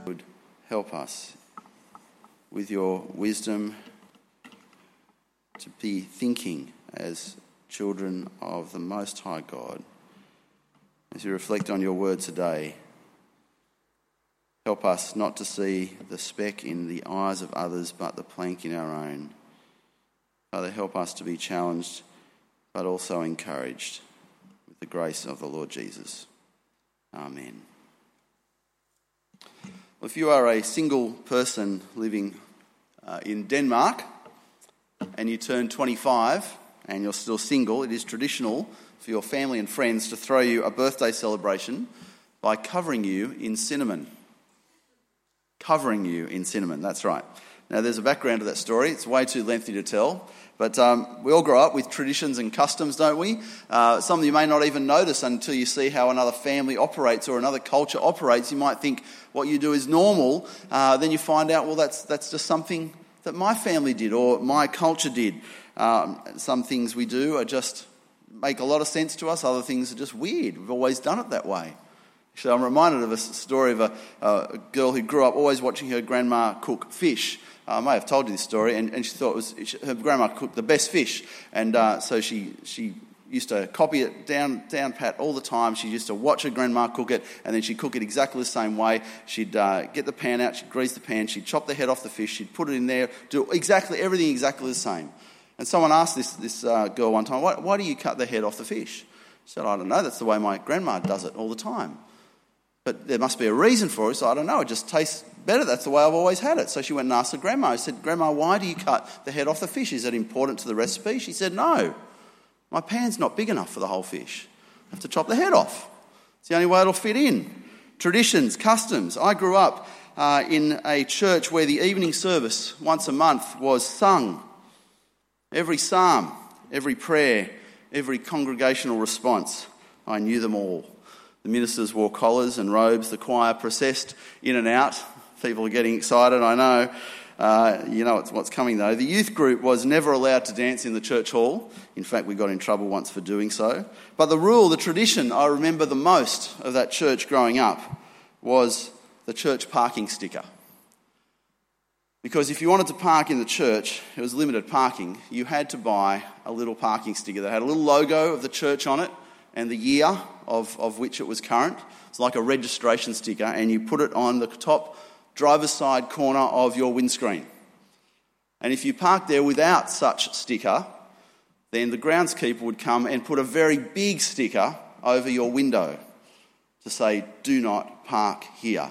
would help us with your wisdom to be thinking as children of the Most High God. As we reflect on your word today, help us not to see the speck in the eyes of others but the plank in our own. Father, help us to be challenged but also encouraged with the grace of the Lord Jesus. Amen. Well, if you are a single person living in Denmark and you turn 25 and you're still single, it is traditional for your family and friends to throw you a birthday celebration by covering you in cinnamon. Covering you in cinnamon, that's right. Now, there's a background to that story. It's way too lengthy to tell. But we all grow up with traditions and customs, don't we? Some of you may not even notice until you see how another family operates or another culture operates. You might think what you do is normal. Then you find out, well, that's just something that my family did or my culture did. Some things we do are just make a lot of sense to us. Other things are just weird. We've always done it that way. Actually, I'm reminded of a story of a girl who grew up always watching her grandma cook fish. I may have told you this story, and she thought her grandma cooked the best fish, and so she used to copy it down pat all the time. She used to watch her grandma cook it, and then she'd cook it exactly the same way. She'd get the pan out, she'd grease the pan, she'd chop the head off the fish, she'd put it in there, do everything exactly the same. And someone asked this girl one time, why do you cut the head off the fish? She said, I don't know, that's the way my grandma does it all the time. But there must be a reason for it, so I don't know, it just tastes better. That's the way I've always had it. So she went and asked her grandma. She said, Grandma, why do you cut the head off the fish? Is that important to the recipe? She said, no. My pan's not big enough for the whole fish. I have to chop the head off. It's the only way it'll fit in. Traditions, customs. I grew up in a church where the evening service once a month was sung. Every psalm, every prayer, every congregational response, I knew them all. The ministers wore collars and robes. The choir processed in and out. People are getting excited, I know. You know what's coming, though. The youth group was never allowed to dance in the church hall. In fact, we got in trouble once for doing so. But the tradition I remember the most of that church growing up was the church parking sticker. Because if you wanted to park in the church, it was limited parking, you had to buy a little parking sticker that had a little logo of the church on it and the year of which it was current. It's like a registration sticker, and you put it on the top driver's side corner of your windscreen. And if you parked there without such sticker, then the groundskeeper would come and put a very big sticker over your window to say, do not park here.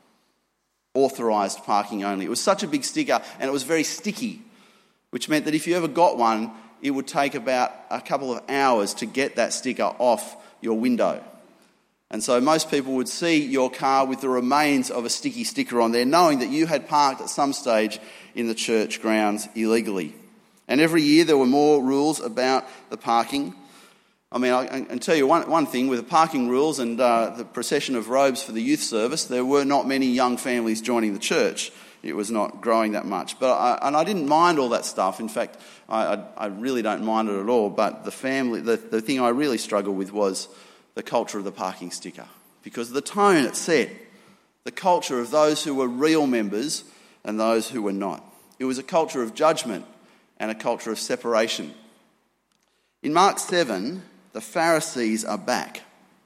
Authorised parking only. It was such a big sticker, and it was very sticky, which meant that if you ever got one, it would take about a couple of hours to get that sticker off your window. And so most people would see your car with the remains of a sticky sticker on there, knowing that you had parked at some stage in the church grounds illegally. And every year there were more rules about the parking. I mean, I can tell you one thing, with the parking rules and the procession of robes for the youth service, there were not many young families joining the church. It was not growing that much. But I didn't mind all that stuff. In fact, I really don't mind it at all. But the thing I really struggled with was the culture of the parking sticker. Because of the tone it set, the culture of those who were real members and those who were not. It was a culture of judgment and a culture of separation. In Mark 7, the Pharisees are back.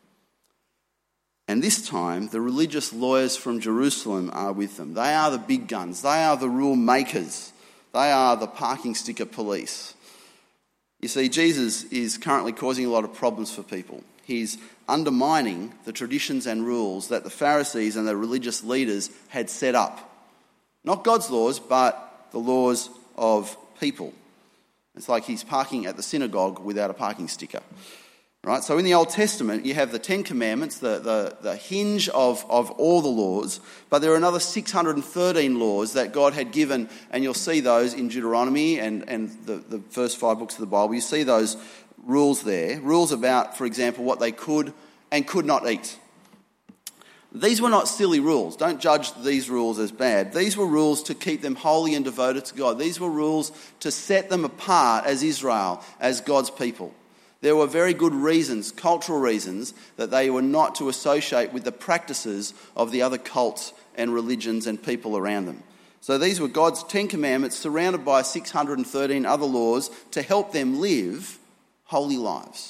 And this time, the religious lawyers from Jerusalem are with them. They are the big guns. They are the rule makers. They are the parking sticker police. You see, Jesus is currently causing a lot of problems for people. He's undermining the traditions and rules that the Pharisees and the religious leaders had set up. Not God's laws, but the laws of people. It's like he's parking at the synagogue without a parking sticker. Right? So in the Old Testament, you have the Ten Commandments, the hinge of all the laws, but there are another 613 laws that God had given, and you'll see those in Deuteronomy and the first 5 books of the Bible. You see those rules there. Rules about, for example, what they could and could not eat. These were not silly rules. Don't judge these rules as bad. These were rules to keep them holy and devoted to God. These were rules to set them apart as Israel, as God's people. There were very good reasons, cultural reasons, that they were not to associate with the practices of the other cults and religions and people around them. So these were God's 10 commandments surrounded by 613 other laws to help them live holy lives.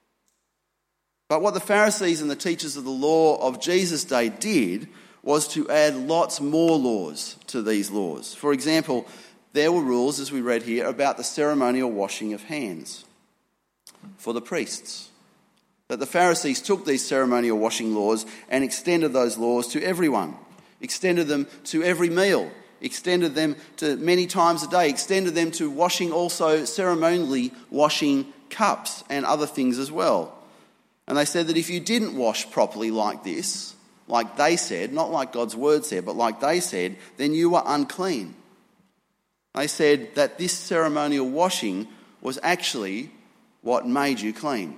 But what the Pharisees and the teachers of the law of Jesus' day did was to add lots more laws to these laws. For example, there were rules, as we read here, about the ceremonial washing of hands for the priests. That the Pharisees took these ceremonial washing laws and extended those laws to everyone, extended them to every meal, extended them to many times a day, extended them to washing also ceremonially washing cups and other things as well. And they said that if you didn't wash properly like this, like they said, not like God's word said, but like they said, then you were unclean. They said that this ceremonial washing was actually what made you clean.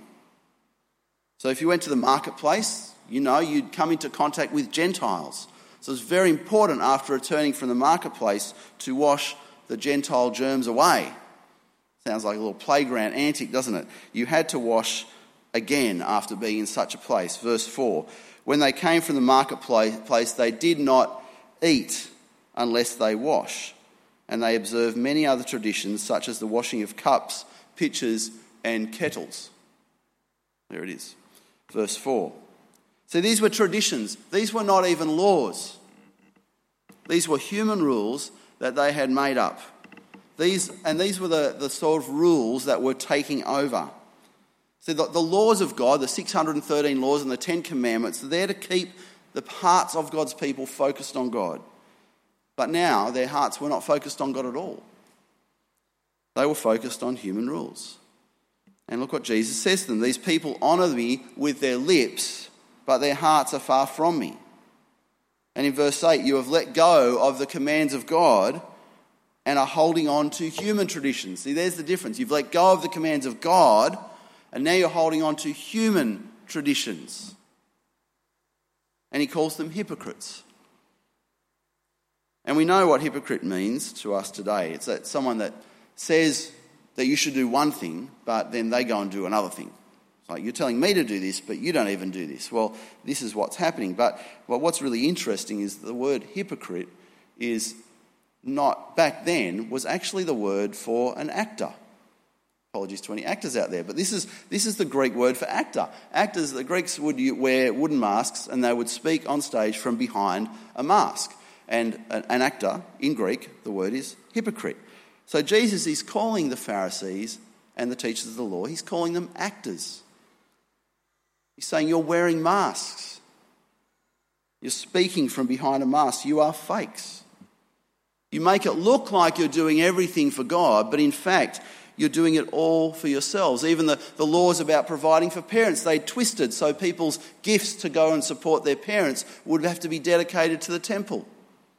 So if you went to the marketplace, you'd come into contact with Gentiles. So it's very important after returning from the marketplace to wash the Gentile germs away. Sounds like a little playground antic, doesn't it? You had to wash again after being in such a place. Verse 4, when they came from the marketplace, they did not eat unless they wash. And they observed many other traditions, such as the washing of cups, pitchers, and kettles. There it is. Verse 4. So these were traditions. These were not even laws. These were human rules that they had made up. These were the sort of rules that were taking over. So the laws of God, the 613 laws and the 10 commandments, are there to keep the hearts of God's people focused on God. But now their hearts were not focused on God at all. They were focused on human rules. And look what Jesus says to them. These people honour me with their lips, but their hearts are far from me. And in verse 8, you have let go of the commands of God and are holding on to human traditions. See, there's the difference. You've let go of the commands of God, and now you're holding on to human traditions. And he calls them hypocrites. And we know what hypocrite means to us today. It's that someone that says that you should do one thing, but then they go and do another thing. It's like, you're telling me to do this, but you don't even do this. Well, this is what's happening. But what's really interesting is the word hypocrite is not, back then, was actually the word for an actor. Apologies to any actors out there, but this is the Greek word for actor. Actors, the Greeks would wear wooden masks and they would speak on stage from behind a mask. And an actor, in Greek, the word is hypocrite. So Jesus is calling the Pharisees and the teachers of the law, he's calling them actors. He's saying you're wearing masks. You're speaking from behind a mask. You are fakes. You make it look like you're doing everything for God, but in fact, you're doing it all for yourselves. Even the laws about providing for parents, they twisted so people's gifts to go and support their parents would have to be dedicated to the temple.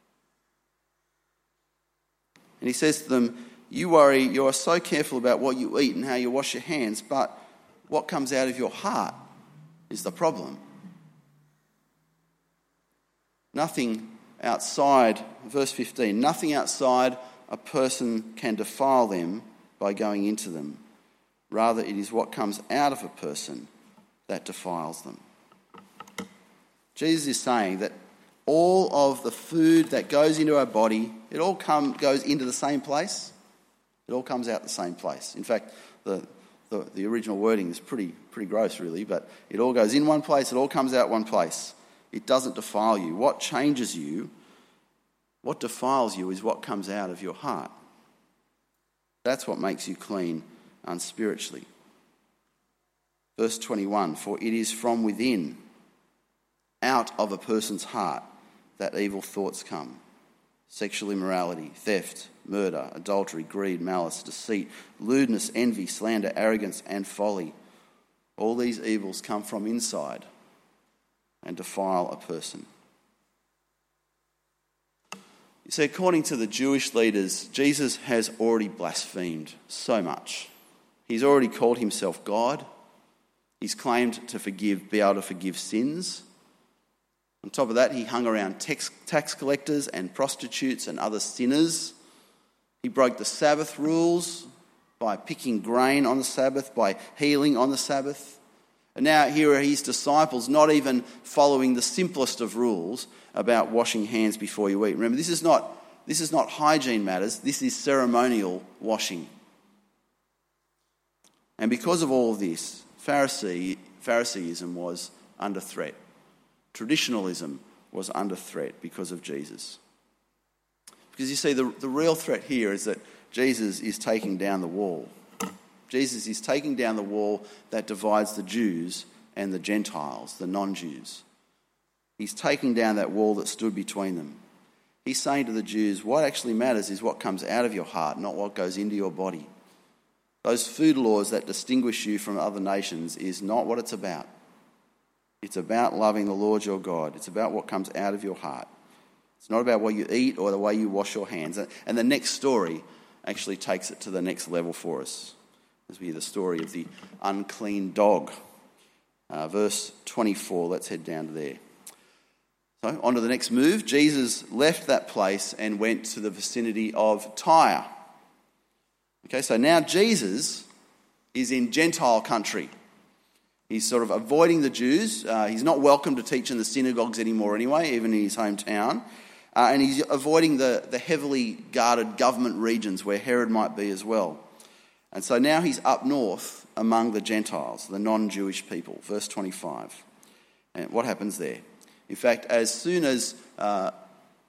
And he says to them, you are so careful about what you eat and how you wash your hands, but what comes out of your heart is the problem. Nothing outside, verse 15, nothing outside a person can defile them by going into them. Rather, it is what comes out of a person that defiles them. Jesus is saying that all of the food that goes into our body, it all goes into the same place. It all comes out the same place. In fact, the original wording is pretty gross, really, but it all goes in one place, it all comes out one place. It doesn't defile you. What changes you, what defiles you is what comes out of your heart. That's what makes you clean unspiritually. Verse 21, for it is from within, out of a person's heart, that evil thoughts come. Sexual immorality, theft, murder, adultery, greed, malice, deceit, lewdness, envy, slander, arrogance, and folly. All these evils come from inside and defile a person. You see, according to the Jewish leaders, Jesus has already blasphemed so much. He's already called himself God. He's claimed to be able to forgive sins. On top of that, he hung around tax collectors and prostitutes and other sinners. He broke the Sabbath rules by picking grain on the Sabbath, by healing on the Sabbath. And now here are his disciples not even following the simplest of rules about washing hands before you eat. Remember, this is not hygiene matters, this is ceremonial washing. And because of all of this, Phariseeism was under threat. Traditionalism was under threat because of Jesus. Because you see, the real threat here is that Jesus is taking down the wall. Jesus is taking down the wall that divides the Jews and the Gentiles, the non-Jews. He's taking down that wall that stood between them. He's saying to the Jews, what actually matters is what comes out of your heart, not what goes into your body. Those food laws that distinguish you from other nations is not what it's about. It's about loving the Lord your God. It's about what comes out of your heart. It's not about what you eat or the way you wash your hands. And the next story actually takes it to the next level for us, as we hear the story of the unclean dog. Verse 24, let's head down to there. So, on to the next move. Jesus left that place and went to the vicinity of Tyre. Okay, so now Jesus is in Gentile country. He's sort of avoiding the Jews. He's not welcome to teach in the synagogues anymore anyway, even in his hometown. And he's avoiding the heavily guarded government regions where Herod might be as well. And so now he's up north among the Gentiles, the non-Jewish people. Verse 25. And what happens there? In fact, as soon as... not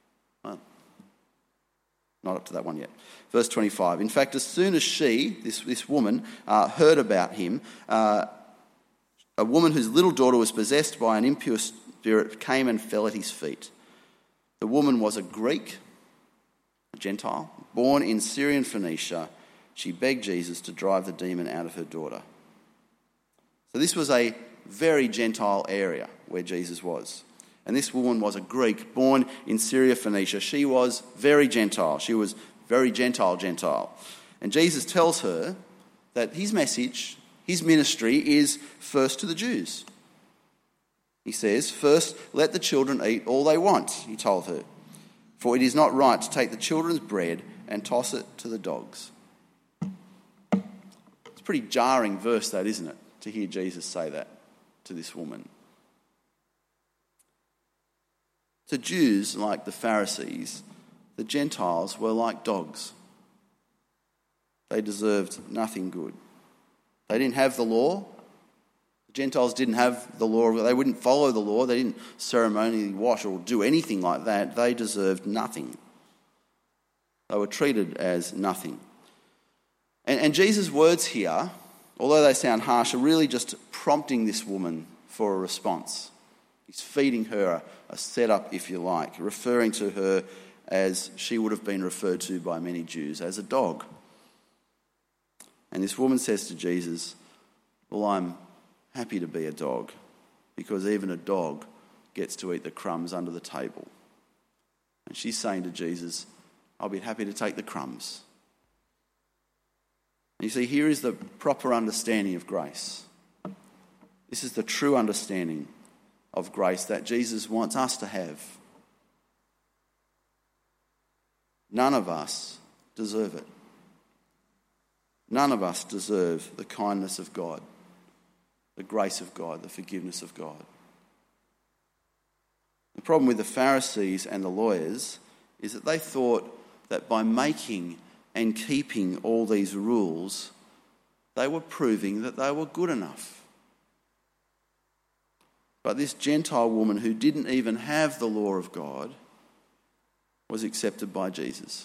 up to that one yet. Verse 25. In fact, as soon as she, this woman, heard about him, a woman whose little daughter was possessed by an impure spirit came and fell at his feet. The woman was a Greek, a Gentile, born in Syrian Phoenicia. She begged Jesus to drive the demon out of her daughter. So this was a very Gentile area where Jesus was. And this woman was a Greek, born in Syria Phoenicia. She was very Gentile. She was very Gentile. And Jesus tells her that his message, his ministry is first to the Jews. He says, first, let the children eat all they want, he told her. For it is not right to take the children's bread and toss it to the dogs. It's a pretty jarring verse, that, isn't it? To hear Jesus say that to this woman. To Jews, like the Pharisees, the Gentiles were like dogs. They deserved nothing good. They didn't have the law. The Gentiles didn't have the law. They wouldn't follow the law. They didn't ceremonially wash or do anything like that. They deserved nothing. They were treated as nothing. And Jesus' words here, although they sound harsh, are really just prompting this woman for a response. He's feeding her a setup, if you like, referring to her as she would have been referred to by many Jews, as a dog. And this woman says to Jesus, well, I'm happy to be a dog, because even a dog gets to eat the crumbs under the table. And she's saying to Jesus, I'll be happy to take the crumbs. And you see, here is the proper understanding of grace. This is the true understanding of grace that Jesus wants us to have. None of us deserve it. None of us deserve the kindness of God, the grace of God, the forgiveness of God. The problem with the Pharisees and the lawyers is that they thought that by making and keeping all these rules, they were proving that they were good enough. But this Gentile woman who didn't even have the law of God was accepted by Jesus.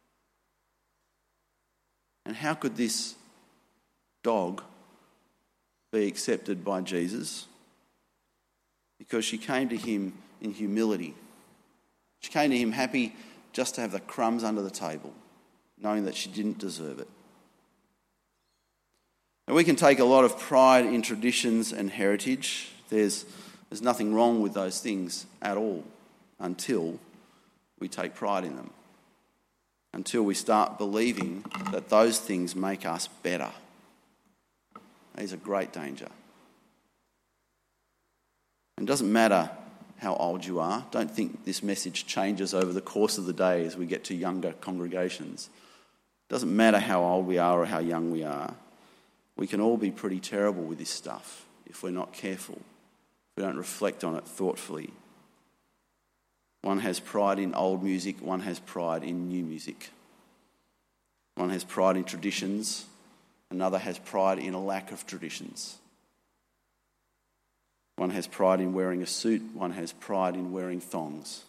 And how could this dog be accepted by Jesus? Because she came to him in humility. She came to him happy just to have the crumbs under the table, knowing that she didn't deserve it. And we can take a lot of pride in traditions and heritage. There's nothing wrong with those things at all until we take pride in them, until we start believing that those things make us better. That is a great danger. And it doesn't matter how old you are. Don't think this message changes over the course of the day as we get to younger congregations. Doesn't matter how old we are or how young we are. We can all be pretty terrible with this stuff if we're not careful, if we don't reflect on it thoughtfully. One has pride in old music, one has pride in new music. One has pride in traditions, another has pride in a lack of traditions. One has pride in wearing a suit, one has pride in wearing thongs.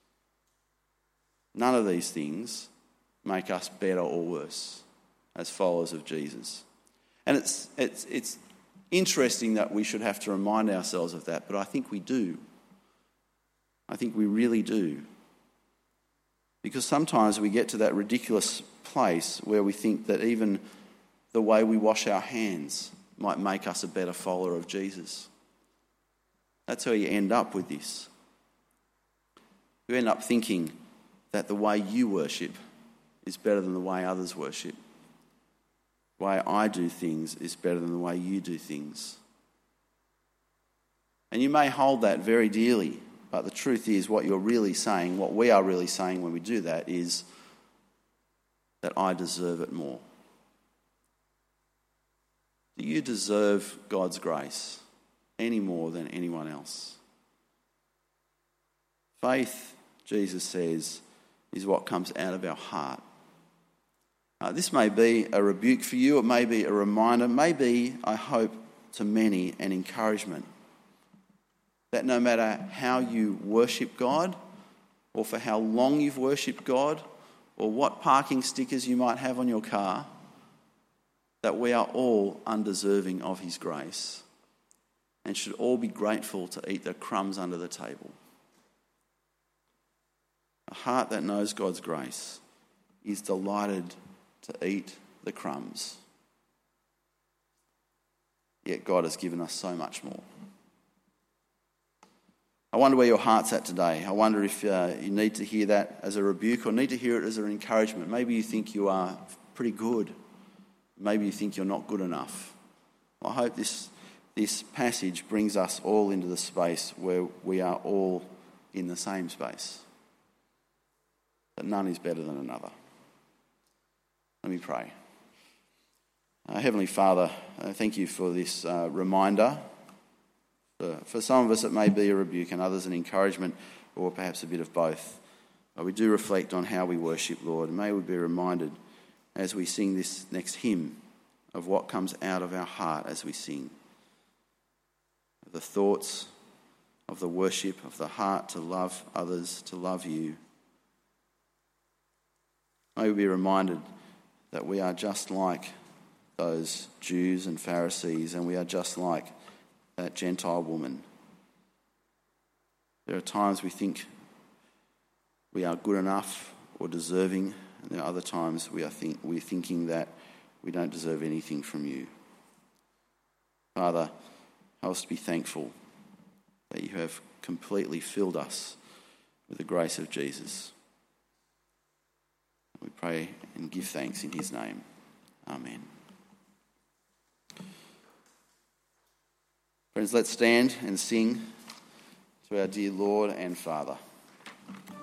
None of these things make us better or worse as followers of Jesus. And it's interesting that we should have to remind ourselves of that, but I think we do. I think we really do. Because sometimes we get to that ridiculous place where we think that even the way we wash our hands might make us a better follower of Jesus. That's how you end up with this. You end up thinking that the way you worship is better than the way others worship. The way I do things is better than the way you do things. And you may hold that very dearly, but the truth is what you're really saying, what we are really saying when we do that is that I deserve it more. Do you deserve God's grace any more than anyone else? Faith, Jesus says, is what comes out of our heart. This may be a rebuke for you, it may be a reminder, maybe, I hope, to many, an encouragement. That no matter how you worship God, or for how long you've worshipped God, or what parking stickers you might have on your car, that we are all undeserving of his grace and should all be grateful to eat the crumbs under the table. A heart that knows God's grace is delighted to eat the crumbs. Yet God has given us so much more. I wonder where your heart's at today. I wonder if you need to hear that as a rebuke or need to hear it as an encouragement. Maybe you think you are pretty good. Maybe you think you're not good enough. I hope this passage brings us all into the space where we are all in the same space. That none is better than another. Let me pray. Heavenly Father, thank you for this reminder. For some of us it may be a rebuke and others an encouragement or perhaps a bit of both. But we do reflect on how we worship, Lord. And may we be reminded as we sing this next hymn of what comes out of our heart as we sing. Of the thoughts, of the worship, of the heart to love others, to love you. May we be reminded that we are just like those Jews and Pharisees, and we are just like that Gentile woman. There are times we think we are good enough or deserving, and there are other times we're thinking that we don't deserve anything from you. Father, help us to be thankful that you have completely filled us with the grace of Jesus. We pray and give thanks in his name. Amen. Friends, let's stand and sing to our dear Lord and Father.